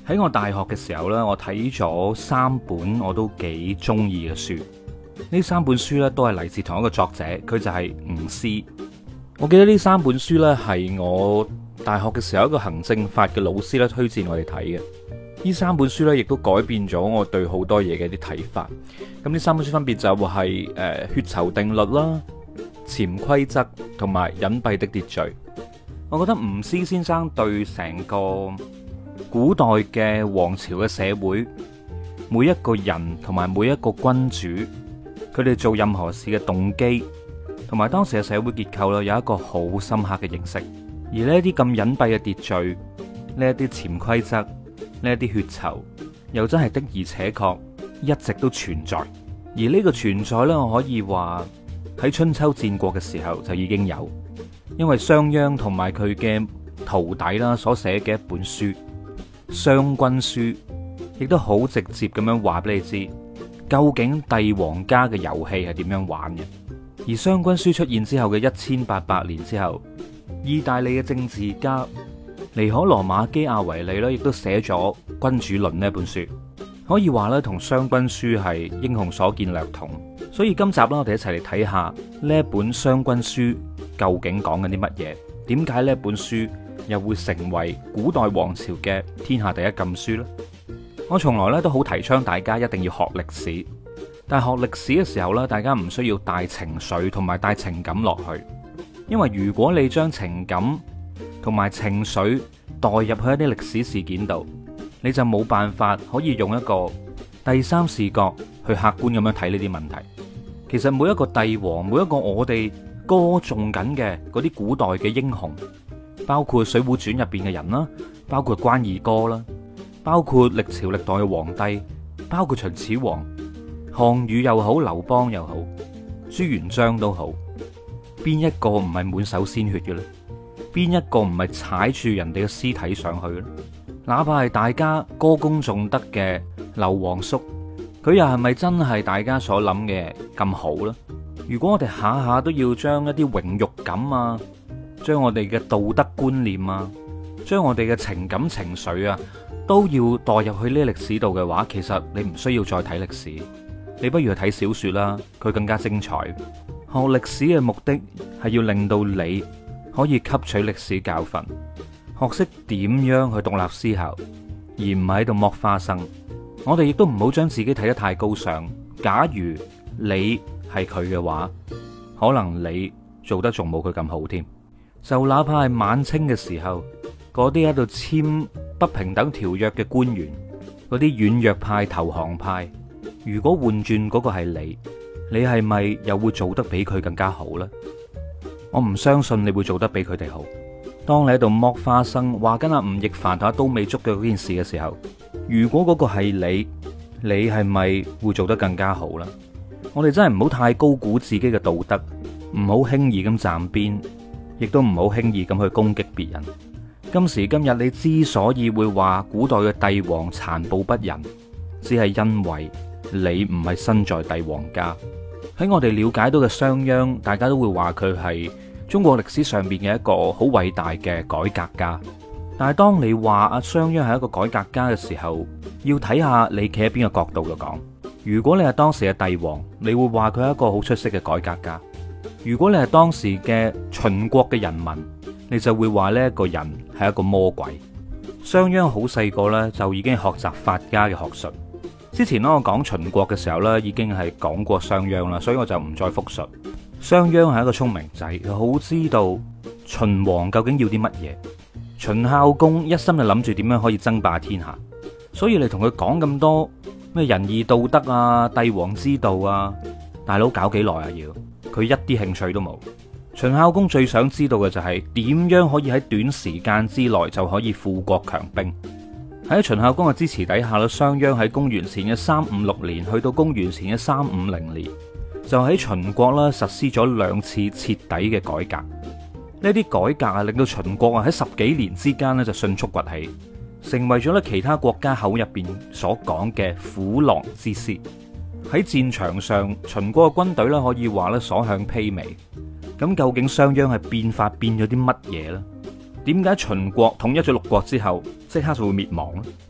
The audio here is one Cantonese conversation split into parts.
喺我大學嘅時候呢，我睇咗3本我都幾中意嘅書。呢3本書呢，都係嚟自同一個作者，佢就係吳思。我記得呢3本書呢，係我大學嘅時候一個行政法嘅老師咧推薦我哋睇嘅。呢3本書呢，亦都改變咗我對好多嘢嘅啲睇法。咁呢3本書分別就係血酬定律啦、潛規則同埋隱蔽的秩序。我覺得吳思先生對成個古代嘅王朝嘅社會，每一個人同埋每一個君主，佢哋做任何事嘅動機，同埋當時嘅社會結構咧，有一個好深刻嘅認識。而呢一啲咁隱蔽嘅秩序，呢一啲潛規則，呢一啲血酬，又真係的而且確一直都存在。而呢個存在呢，我可以話喺春秋戰國嘅時候就已經有，因為商鞅同埋佢嘅徒弟啦所寫嘅一本書《商君書》，亦都好直接咁樣話俾你知，究竟帝王家嘅遊戲係點樣玩嘅。而《商君書》出現之後嘅1800年之後，意大利嘅政治家尼可羅馬基亞維利咧，亦都寫咗《君主論》呢本書，可以話咧同《商君書》係英雄所見略同。所以今集啦，我哋一齊嚟睇下呢一本《商君書》究竟講緊啲乜嘢？點解呢本書又會成為古代王朝嘅天下第一禁書呢？我從來咧都好提倡大家一定要學歷史，但係學歷史嘅時候咧，大家唔需要帶情緒同埋帶情感落去，因為如果你將情感同埋情緒代入去一啲歷史事件度，你就冇辦法可以用一個第三視角去客觀咁樣睇呢啲問題。其實每一個帝王，每一個我哋歌頌緊嘅嗰啲古代嘅英雄，包括《水滸傳》入邊嘅人啦，包括關二哥啦，包括歷朝歷代嘅皇帝，包括秦始皇、項羽又好，劉邦又好，朱元璋都好，邊一個唔係滿手鮮血嘅咧？邊一個唔係踩住人哋嘅屍體上去咧？哪怕係大家歌功頌德嘅劉皇叔，佢又係咪真係大家所諗嘅咁好呢？如果我哋下下都要將一啲榮辱感啊，將我哋嘅道德觀念啊，將我哋嘅情感情緒啊，都要代入去呢歷史度嘅話，其實你唔需要再睇歷史，你不如去睇小說啦，佢更加精彩。學歷史嘅目的係要令到你可以吸取歷史教訓，學識點樣去獨立思考，而唔係喺度剝花生。我哋亦都唔好將自己睇得太高尚。假如你係佢嘅話，可能你做得仲冇佢咁好添。就哪怕係晚清嘅時候，嗰啲喺度簽不平等條約嘅官員，嗰啲軟弱派、投降派，如果換轉嗰個係你係咪又會做得比佢更加好呢？我唔相信你會做得比佢哋好。當你喺度剝花生，話緊阿吳亦凡同阿都美竹嘅嗰件事嘅時候，如果嗰個係你係咪會做得更加好呢？我哋真係唔好太高估自己嘅道德，唔好輕易咁站邊，亦都唔好輕易咁去攻擊別人。今時今日你之所以會話古代嘅帝王殘暴不仁，只係因為你唔係身在帝王家。喺我哋了解到嘅商鞅，大家都會話佢係中國歷史上面嘅一個好偉大嘅改革家。但係當你話阿商鞅係一個改革家嘅時候，要睇下你企喺邊個角度度講。如果你係當時嘅帝王，你會話佢係一個好出色嘅改革家；如果你係當時嘅秦國嘅人民，你就會話呢一個人係一個魔鬼。商鞅好細個呢，就已經學習法家嘅學術。之前我講秦國嘅時候呢，已經係講過商鞅啦，所以我就唔再複述。商鞅係一個聰明仔，佢好知道秦王究竟要啲乜嘢。秦孝公一心就諗住點樣可以爭霸天下，所以你同佢講咁多咩仁義道德啊、帝王之道啊，大佬搞幾耐啊？要佢一啲興趣都冇。秦孝公最想知道嘅就係點樣可以喺短時間之內就可以富國強兵。喺秦孝公嘅支持底下，商鞅喺公元前嘅356年去到公元前嘅350年，就喺秦國啦實施咗2次徹底嘅改革。呢啲改革啊，令到秦國啊喺10幾年之間咧就迅速崛起，成為咗咧其他國家口入邊所講嘅虎狼之師。喺戰場上，秦國嘅軍隊咧可以話咧所向披靡。咁究竟商鞅係變法變咗啲乜嘢呢？點解秦國統一咗6國之後，即刻就會滅亡呢？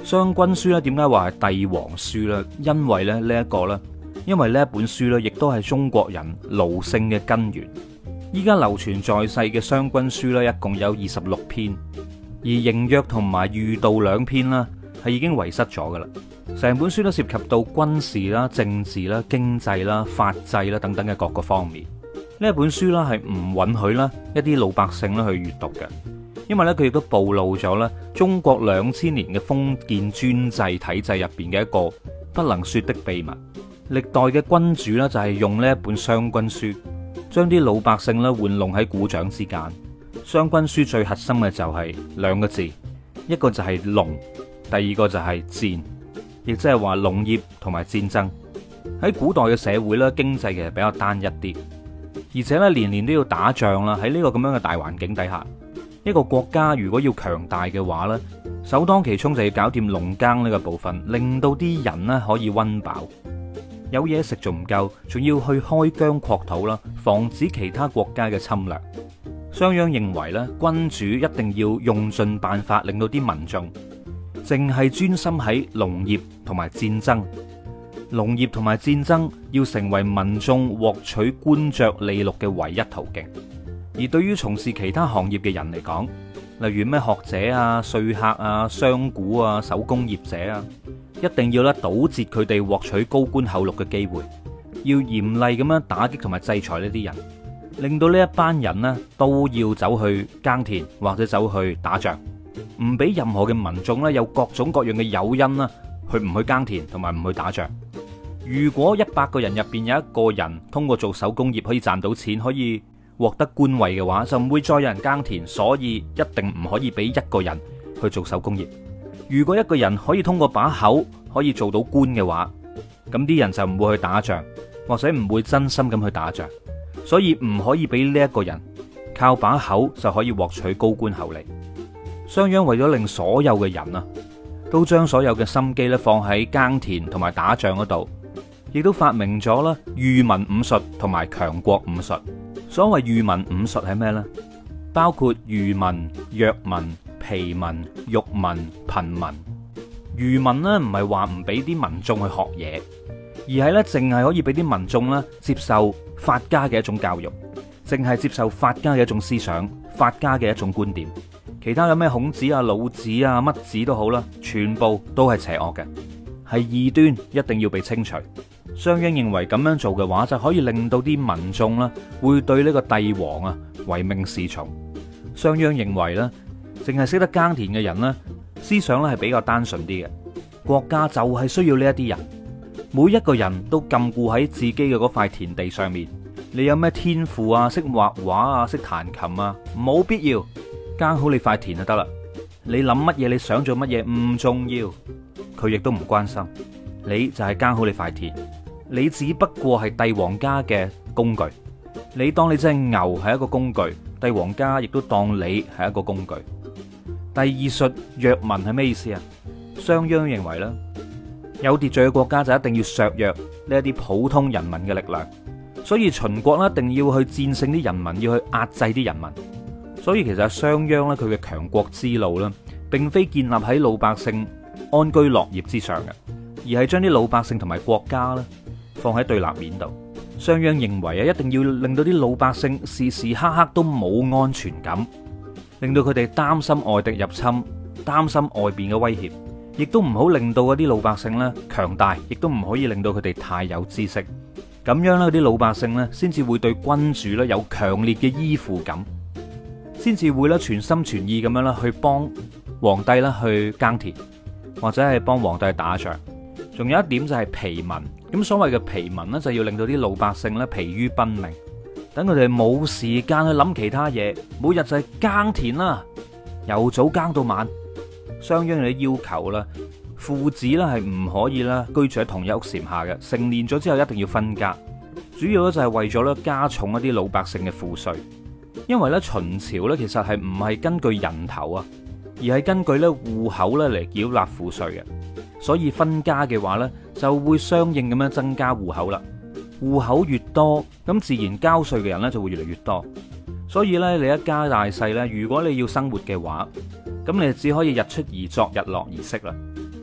商君書咧點解話係帝王書呢？因為咧呢一個呢，因為呢一本書呢，亦都係中國人奴性嘅根源。依家流傳在世嘅商君書呢，一共有26篇，而刑約同埋御道2篇啦，係已經遺失咗噶啦。成本書都涉及到軍事啦、政治啦、經濟啦、法制啦等等嘅各個方面。呢一本書啦係唔允許啦一啲老百姓啦去閱讀嘅，因為咧佢亦都暴露咗咧中國2000年嘅封建專制體制入邊嘅一個不能說的秘密。歷代嘅君主呢，就係用呢一本商君書，將啲老百姓咧玩弄喺股掌之間。商君書最核心嘅就係兩個字，一個就係農，第二個就係戰，亦即係話農業同埋戰爭。喺古代嘅社會咧，經濟其實比較單一啲，而且咧年年都要打仗啦。喺呢個咁樣嘅大環境底下，一個國家如果要強大嘅話呢，首當其衝就要搞掂農耕呢個部分，令到啲人呢可以溫飽，有嘢食仲唔夠，仲要去開疆擴土啦，防止其他國家嘅侵略。商鞅認為咧，君主一定要用盡辦法，令到啲民眾淨係專心喺農業同埋戰爭。農業同埋戰爭要成為民眾獲取官爵利祿嘅唯一途徑。而對於從事其他行業嘅人嚟講，例如咩學者啊、說客啊、商賈啊、手工業者啊，一定要堵截佢哋獲取高官厚祿嘅機會，要嚴厲咁樣打擊同埋制裁呢啲人，令到呢一班人呢都要走去耕田或者走去打仗，唔俾任何嘅民眾呢有各種各樣嘅誘因啦，去唔去耕田同埋唔去打仗。如果100個人入邊有一個人通過做手工業可以賺到錢，可以獲得官位嘅話，就唔會再有人耕田，所以一定唔可以俾一個人去做手工業。如果一個人可以通過把口可以做到官嘅話，咁啲人就唔會去打仗，或者唔會真心咁去打仗。所以唔可以俾呢一個人靠把口就可以獲取高官厚利。商鞅為咗令所有嘅人啊，都將所有嘅心機咧放喺耕田同埋打仗嗰度，亦都發明咗啦裕民五術同埋強國五術。所謂裕民五術係咩呢？包括愚民、弱民、疲民、辱民、貧民。愚民呢唔係話唔俾啲民眾去學嘢，而係咧淨係可以俾啲民眾咧接受法家嘅一種教育，淨係接受法家嘅一種思想、法家嘅一種觀點。其他有咩孔子啊、老子啊、乜子都好啦，全部都係邪惡嘅，係異端，一定要被清除。商鞅認為咁樣做嘅話，就可以令到啲民眾啦，會對呢個帝王啊唯命是從。商鞅認為咧，淨係識得耕田嘅人咧，思想咧係比較單純啲嘅。國家就係需要呢一啲人，每一個人都禁錮喺自己嘅嗰塊田地上面。你有咩天賦啊，識畫畫啊，識彈琴啊，冇必要，耕好你塊田就得啦。你諗乜嘢，你想做乜嘢唔重要，佢亦都唔關心。你就係耕好你塊田。你只不過係帝王家嘅工具，你當你隻牛係一個工具，帝王家亦都當你係一個工具。第二術弱民係咩意思啊？商鞅認為咧，有秩序嘅國家就一定要削弱呢一啲普通人民嘅力量，所以秦國咧一定要去戰勝啲人民，要去壓制啲人民。所以其實商鞅咧佢嘅強國之路咧，並非建立喺老百姓安居樂業之上嘅，而係將啲老百姓同埋國家咧放喺對立面度。商鞅認為啊，一定要令到啲老百姓時時刻刻都冇安全感，令到佢哋擔心外敵入侵，擔心外邊嘅威脅，亦都唔好令到嗰啲老百姓咧強大，亦都唔可以令到佢哋太有知識。咁樣咧，啲老百姓咧先至會對君主咧有強烈嘅依附感，先至會咧全心全意咁樣啦去幫皇帝啦去耕田，或者係幫皇帝去打仗。仲有一點就係疲民，咁所謂嘅疲民呢，就要令到啲老百姓咧疲於奔命，等佢哋冇時間去諗其他嘢，每日就係耕田啦，由早耕到晚。商鞅嘅要求啦，父子咧係唔可以啦居住喺同一屋檐下嘅，成年咗之後一定要分家。主要咧就係為咗咧加重一啲老百姓嘅賦稅，因為咧秦朝咧其實係唔係根據人頭啊，而係根據咧戶口咧嚟繳納賦稅嘅。所以分家嘅話呢，就會相應咁樣增加戶口啦。戶口越多，咁自然交稅嘅人呢就會越嚟越多。所以呢，你一家大細呢，如果你要生活嘅話，咁你只可以日出而作，日落而息啦。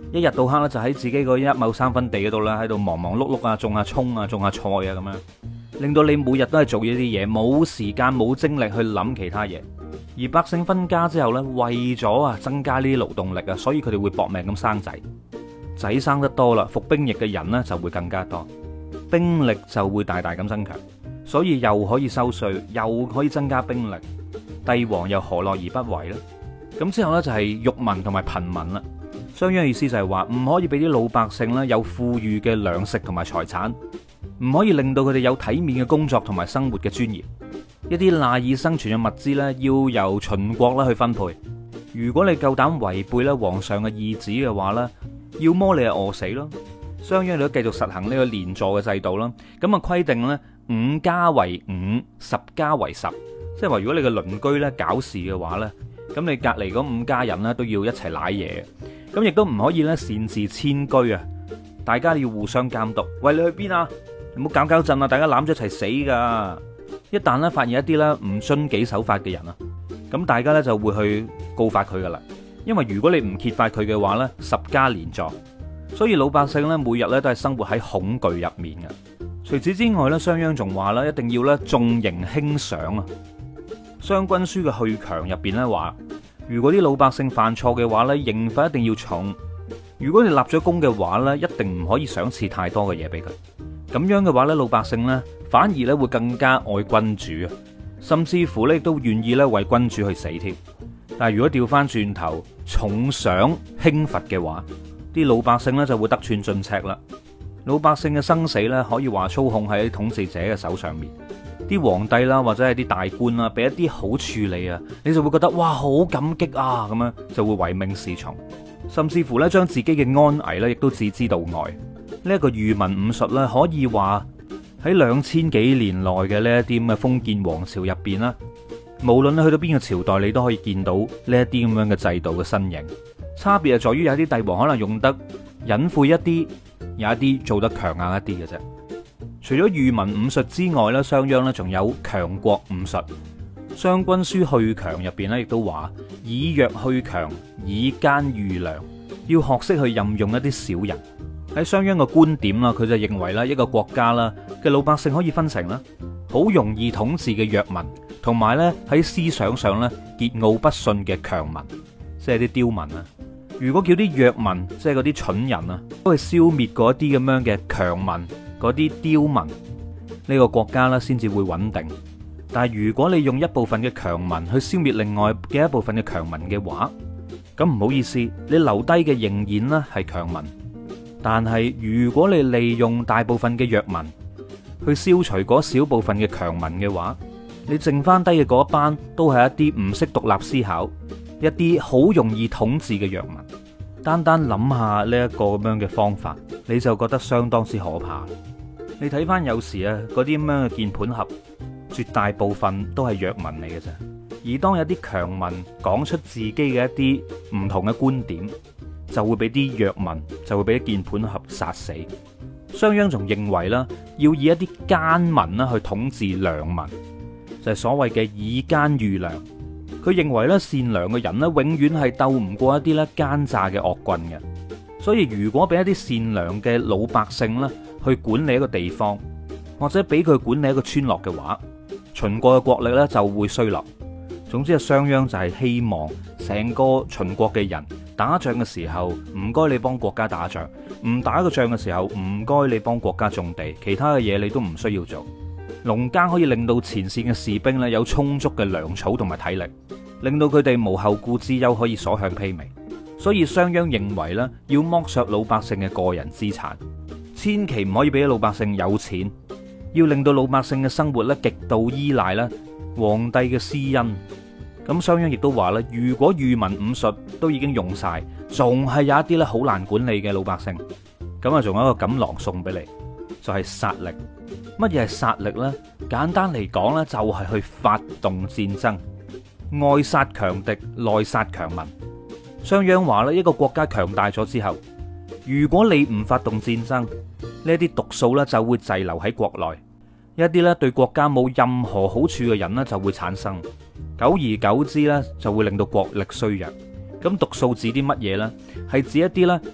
一日到黑咧就喺自己嗰一畝三分地嗰度啦，喺度忙忙碌碌啊，種下蔥啊，種下菜啊咁樣，令到你每日都係做呢啲嘢，冇時間冇精力去諗其他嘢。而百姓分家之後呢，為咗啊增加呢啲勞動力啊，所以佢哋會搏命咁生仔，仔生得多啦，服兵役嘅人呢就會更加多，兵力就會大大咁增強，所以又可以收稅，又可以增加兵力，帝王又何樂而不為呢？咁之後呢，就係裕民同埋貧民啦。商鞅意思就係話唔可以俾啲老百姓呢有富裕嘅糧食同埋財產，唔可以令到佢哋有體面嘅工作同埋生活嘅尊嚴。一啲賴以生存嘅物資呢，要由秦國啦去分配。如果你夠膽違背咧皇上嘅意旨嘅話呢，要麼你係餓死咯。商鞅都繼續實行呢個連坐嘅制度啦。咁啊規定呢5家為5，10家為10，即係話如果你嘅鄰居呢搞事嘅話呢，咁你隔離嗰5家人呢都要一齊舐嘢。咁亦都唔可以咧擅自遷居啊！大家要互相監督。喂，你去邊啊？你唔好搞震啊！大家攬咗一齊死噶！一旦咧發現一啲咧唔遵紀守法嘅人啊，咁大家咧就會去告發佢噶啦。因為如果你唔揭發佢嘅話咧，10家連坐。所以老百姓咧每日咧都係生活喺恐懼入面嘅。除此之外咧，商鞅仲話咧一定要咧重刑輕賞啊！《商君書》嘅去強入邊咧話，如果啲老百姓犯錯嘅話咧，刑罰一定要重。如果你立咗功嘅話咧，一定唔可以賞賜太多嘅嘢俾佢。咁樣嘅話咧，老百姓咧反而咧會更加愛君主啊，甚至乎咧都願意咧為君主去死添。但係如果調翻轉頭重賞輕罰嘅話，啲老百姓咧就會得寸進尺啦。老百姓嘅生死咧可以話操控喺統治者嘅手上面。啲皇帝啦，或者係啲大官啦，俾一啲好處理啊，你就會覺得哇好感激啊，咁樣就會唯命是從，甚至乎咧將自己嘅安危咧亦都置之度外。呢一個愚民武術咧，可以話喺2000幾年內嘅呢一啲咁嘅封建王朝入邊啦，無論你去到邊個朝代，你都可以見到呢一啲咁樣嘅制度嘅身影。差別係在於有啲帝王可能用得隱晦一啲，有一啲做得強硬一啲嘅啫。除咗愚民武術之外咧，商鞅咧仲有強國武術。《商君書》去強入邊咧，亦都話以弱去強，以奸御良，要學識去任用一啲小人。喺商鞅嘅觀點啦，佢就認為咧一個國家啦嘅老百姓可以分成啦好容易統治嘅弱民，同埋咧喺思想上咧桀驁不馴嘅強民，即係啲刁民啊。如果叫啲弱民，即係嗰啲蠢人啊，都係消滅嗰啲咁樣嘅強民，嗰啲刁民，呢個國家咧先至會穩定。但係如果你用一部分嘅強民去消滅另外嘅一部分嘅強民嘅話，咁唔好意思，你留低嘅仍然咧係強民。但係如果你利用大部分嘅弱民去消除嗰少部分嘅強民嘅話，你剩翻低嘅嗰一班都係一啲唔識獨立思考，一啲好容易統治嘅弱民。單單諗下呢一個咁樣嘅方法，你就覺得相當之可怕。你睇翻有時啊，嗰啲咁樣嘅鍵盤俠，絕大部分都係弱民嚟嘅啫。而當有啲強民講出自己嘅一啲唔同嘅觀點，就會俾啲弱民，就會俾啲鍵盤俠殺死。商鞅仲認為啦，要以一啲奸民啦去統治良民，就係所謂嘅以奸御良。佢認為咧，善良嘅人咧，永遠係鬥唔過一啲咧奸詐嘅惡棍嘅。所以如果俾一啲善良嘅老百姓咧去管理一個地方，或者俾佢管理一個村落嘅話，秦國嘅國力咧就會衰落。總之啊，商鞅就係希望成個秦國嘅人打仗嘅時候，唔該你幫國家打仗；唔打個仗嘅時候，唔該你幫國家種地，其他嘅嘢你都唔需要做。農耕可以令到前線嘅士兵咧有充足嘅糧草同埋體力，令到佢哋無後顧之憂，可以所向披靡。所以商鞅認為咧，要剝削老百姓嘅個人資產，千祈唔可以俾老百姓有錢，要令到老百姓嘅生活咧極度依賴咧皇帝嘅私恩。咁商鞅亦都話咧，如果愚民武術都已經用晒，仲係有一啲咧好難管理嘅老百姓，咁啊仲有一個錦囊送俾你，就係殺力。乜嘢係殺力呢？簡單嚟講呢，就係去發動戰爭，外殺強敵，內殺強民。商鞅話咧，一個國家強大咗之後，如果你唔發動戰爭，呢啲毒素咧就會滯留喺國內，一啲咧對國家冇任何好處嘅人咧就會產生，久而久之咧就會令到國力衰弱。咁毒素指啲乜嘢呢？係指一啲咧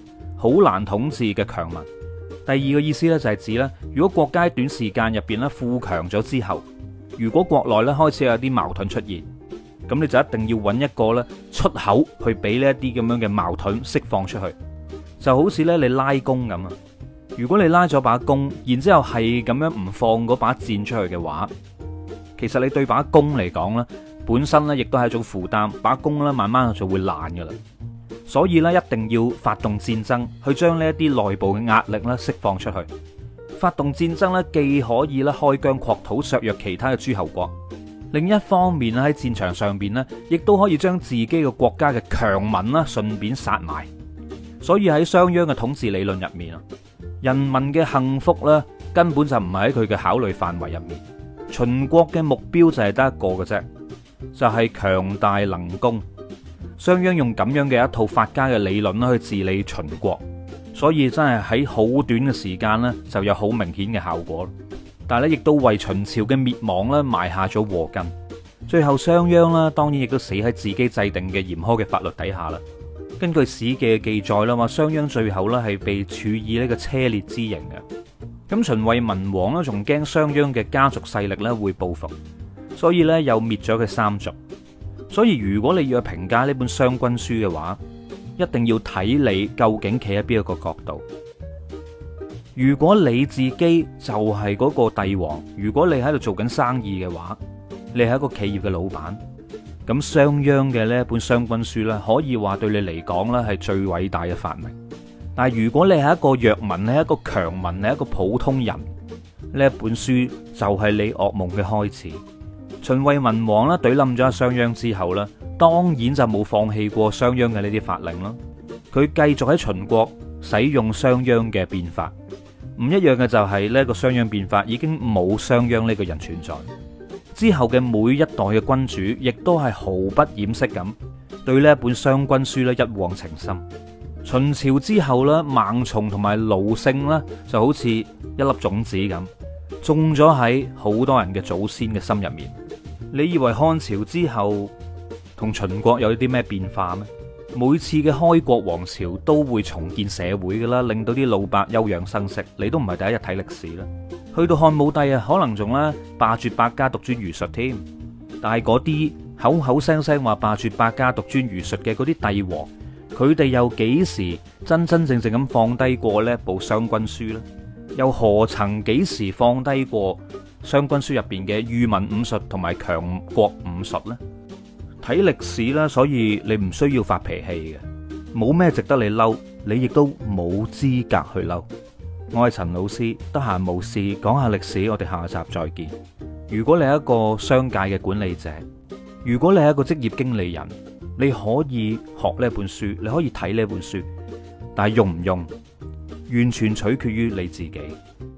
好難統治嘅強民。第二個意思咧就係指咧，如果國家喺短時間入邊咧富強咗之後，如果國內咧開始有啲矛盾出現，咁你就一定要揾一個咧出口去俾呢一啲咁樣嘅矛盾釋放出去。就好似咧你拉弓咁啊，如果你拉咗把弓，然之後係咁樣唔放嗰把箭出去嘅話，其實你對把弓嚟講咧，本身咧亦都係一種負擔，把弓咧慢慢就會爛噶啦。所以咧，一定要發動戰爭，去將呢一啲內部嘅壓力咧釋放出去。發動戰爭咧，既可以咧開疆擴土，削弱其他嘅諸侯國；另一方面咧，喺戰場上邊咧，亦都可以將自己嘅國家嘅強民啦，順便殺埋。所以喺商鞅嘅統治理論入面啊，人民嘅幸福咧，根本就唔係喺佢嘅考慮範圍入面。秦國嘅目標就係得一個嘅啫，就係強大能攻。商鞅用咁樣嘅一套法家嘅理論啦，去治理秦國，所以真係喺好短嘅時間呢，就有好明顯嘅效果。但係咧，亦都為秦朝嘅滅亡咧埋下咗禍根。最後商鞅啦，當然亦都死喺自己制定嘅嚴苛嘅法律底下啦。根據《史記》嘅記載啦，話商鞅最後咧係被處以呢個車裂之刑嘅。咁秦惠文王咧，仲驚商鞅嘅家族勢力咧會報復，所以咧又滅咗佢三族。所以如果你要去評價呢本《商君書》嘅話，一定要睇你究竟企喺邊一個角度。如果你自己就係嗰個帝王，如果你喺度做緊生意嘅話，你係一個企業嘅老闆，咁商鞅嘅呢本《商君書》呢，可以話對你嚟講呢係最偉大嘅發明。但係如果你係一個弱民，你係一個強民，你係一個普通人，呢一本書就係你噩夢嘅開始。秦惠文王啦，懟冧咗商鞅之後啦，當然就冇放棄過商鞅嘅呢啲法令啦。佢繼續喺秦國使用商鞅嘅變法，唔一樣嘅就係呢個商鞅變法已經冇商鞅呢個人存在。之後嘅每一代嘅君主，亦都係毫不掩飾咁對呢一本《商君書》咧一往情深。秦朝之後咧，盲從同埋奴性咧就好似一粒種子咁，種咗喺好多人嘅祖先嘅心入面。你以為漢朝之後同秦國有啲咩變化咩？每次嘅開國王朝都會重建社會噶啦，令到啲老伯休養生息。你都唔係第一日睇歷史啦。去到漢武帝啊，可能仲咧罷黜百家，獨尊儒術添。但係嗰啲口口聲聲話罷黜百家，獨尊儒術嘅嗰啲帝王，佢哋又幾時真真正正咁放低過呢部《商君書》呢？又何曾幾時放低過《商君書》入邊嘅裕民五術同埋強國五術呢？睇歷史啦，所以你唔需要發脾氣嘅，冇咩值得你嬲，你亦都冇資格去嬲。我係陳老師，得閒冇事講下歷史，我哋下集再見。如果你係一個商界嘅管理者，如果你係一個職業經理人，你可以學呢本書，你可以睇呢本書，但係用唔用，完全取決於你自己。